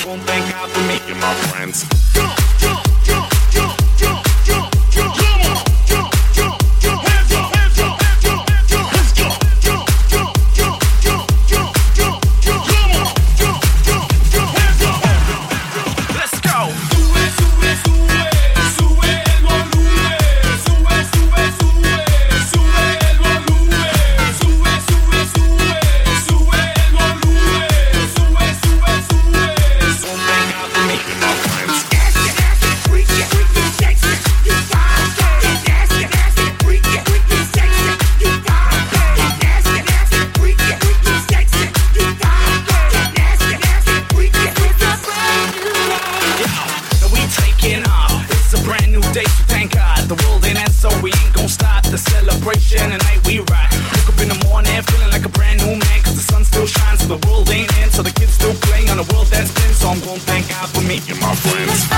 gonna thank God for me and my friends. So the world ain't in, so the kids still playing on the world that's been. So I'm gonna thank God for me and my friends.